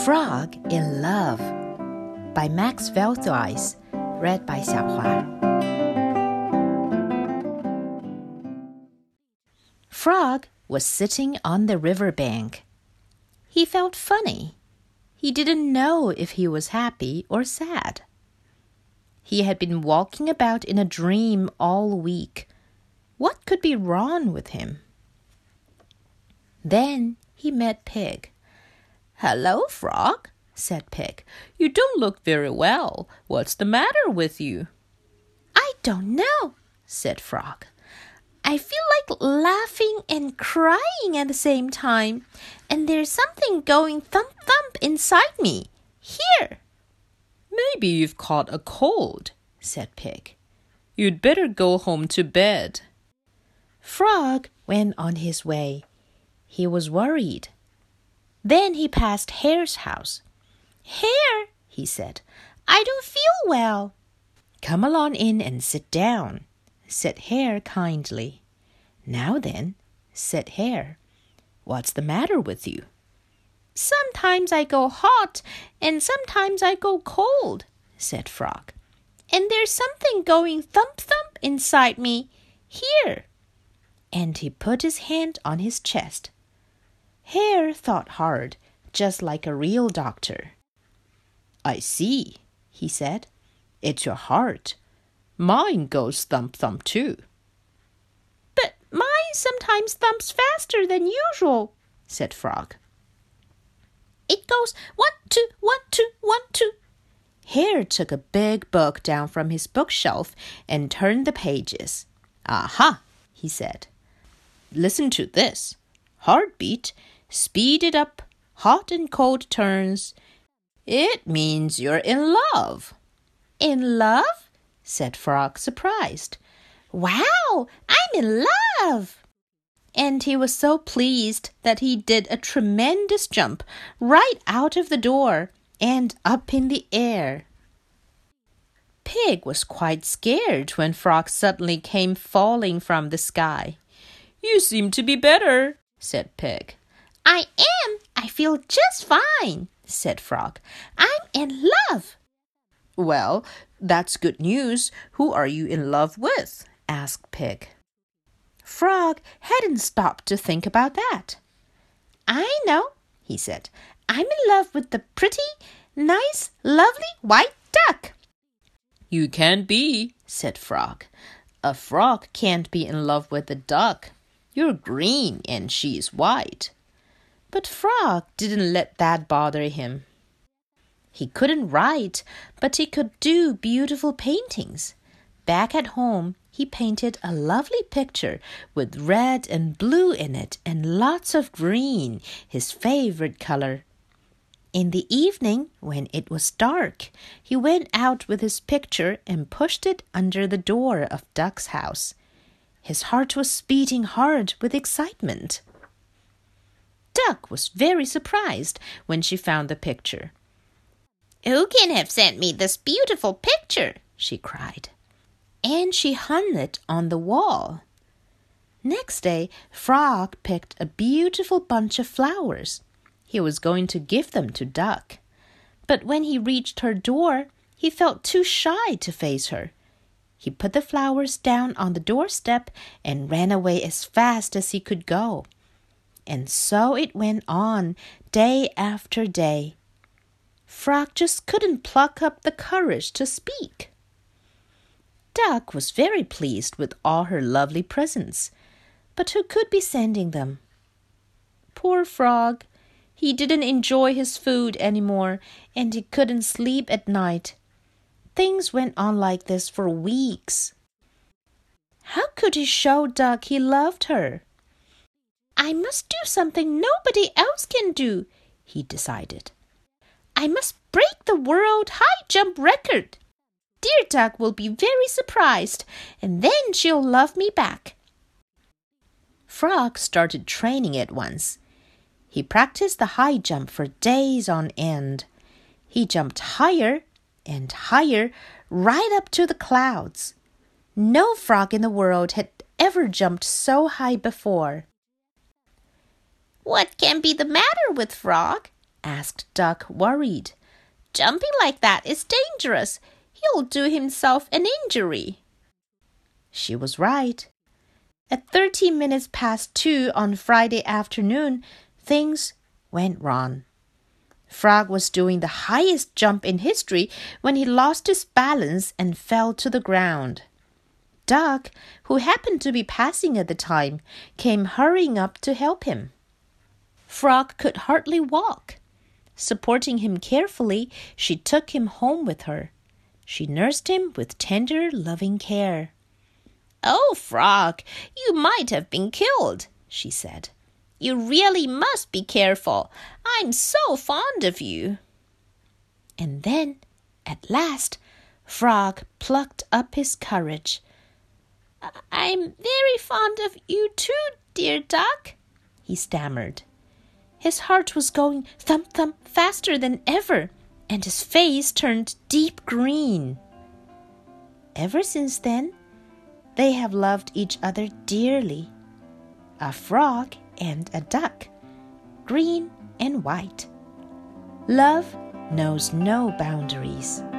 Frog in Love by Max Veldhuis, read by 小华. Frog was sitting on the riverbank. He felt funny. He didn't know if he was happy or sad. He had been walking about in a dream all week. What could be wrong with him? Then he met Pig. "Hello, Frog," said Pig. "You don't look very well. What's the matter with you?" "I don't know," said Frog. "I feel like laughing and crying at the same time, and there's something going thump-thump inside me. Here." "Maybe you've caught a cold," said Pig. "You'd better go home to bed." Frog went on his way. He was worried. Then he passed Hare's house. "Hare," he said, "I don't feel well." "Come along in and sit down," said Hare kindly. "Now then," said Hare, "what's the matter with you?" "Sometimes I go hot and sometimes I go cold," said Frog. "And there's something going thump-thump inside me. Here." And he put his hand on his chest. Hare thought hard, just like a real doctor. "I see," he said. "It's your heart. Mine goes thump-thump too." "But mine sometimes thumps faster than usual," said Frog. "It goes 1-2, 1-2, 1-2." Hare took a big book down from his bookshelf and turned the pages. "Aha," he said. "Listen to this. Heartbeat, speed it up, hot and cold turns. It means you're in love." "In love?" said Frog, surprised. "Wow, I'm in love!" And he was so pleased that he did a tremendous jump right out of the door and up in the air. Pig was quite scared when Frog suddenly came falling from the sky. "You seem to be better," said Pig. "I am. I feel just fine," said Frog. "I'm in love." "Well, that's good news. Who are you in love with?" asked Pig. Frog hadn't stopped to think about that. "I know," he said. "I'm in love with the pretty, nice, lovely white duck." "You can't be," said Frog. "A frog can't be in love with a duck. You're green and she's white." But Frog didn't let that bother him. He couldn't write, but he could do beautiful paintings. Back at home, he painted a lovely picture with red and blue in it and lots of green, his favorite color. In the evening, when it was dark, he went out with his picture and pushed it under the door of Duck's house. His heart was beating hard with excitement. Duck was very surprised when she found the picture. "Who can have sent me this beautiful picture?" she cried. And she hung it on the wall. Next day, Frog picked a beautiful bunch of flowers. He was going to give them to Duck. But when he reached her door, he felt too shy to face her. He put the flowers down on the doorstep and ran away as fast as he could go. And so it went on, day after day. Frog just couldn't pluck up the courage to speak. Duck was very pleased with all her lovely presents, but who could be sending them? Poor Frog, he didn't enjoy his food anymore, and he couldn't sleep at night. Things went on like this for weeks. How could he show Duck he loved her? "I must do something nobody else can do," he decided. "I must break the world high jump record. Dear Duck will be very surprised, and then she'll love me back." Frog started training at once. He practiced the high jump for days on end. He jumped higher and higher, right up to the clouds. No frog in the world had ever jumped so high before. "What can be the matter with Frog?" asked Duck, worried. "Jumping like that is dangerous. He'll do himself an injury." She was right. At 13 minutes past 2 on Friday afternoon, things went wrong. Frog was doing the highest jump in history when he lost his balance and fell to the ground. Duck, who happened to be passing at the time, came hurrying up to help him. Frog could hardly walk. Supporting him carefully, she took him home with her. She nursed him with tender, loving care. "Oh, Frog, you might have been killed," she said. "You really must be careful. I'm so fond of you." And then, at last, Frog plucked up his courage. "I'm very fond of you too, dear Duck," he stammered. His heart was going thump-thump faster than ever, and his face turned deep green. Ever since then, they have loved each other dearly. A frog and a duck, green and white. Love knows no boundaries.